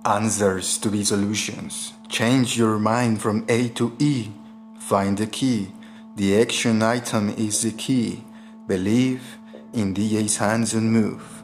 answers to be solutions. Change your mind from A to E. Find the key. The action item is the key. Believe in DA's hands-on move.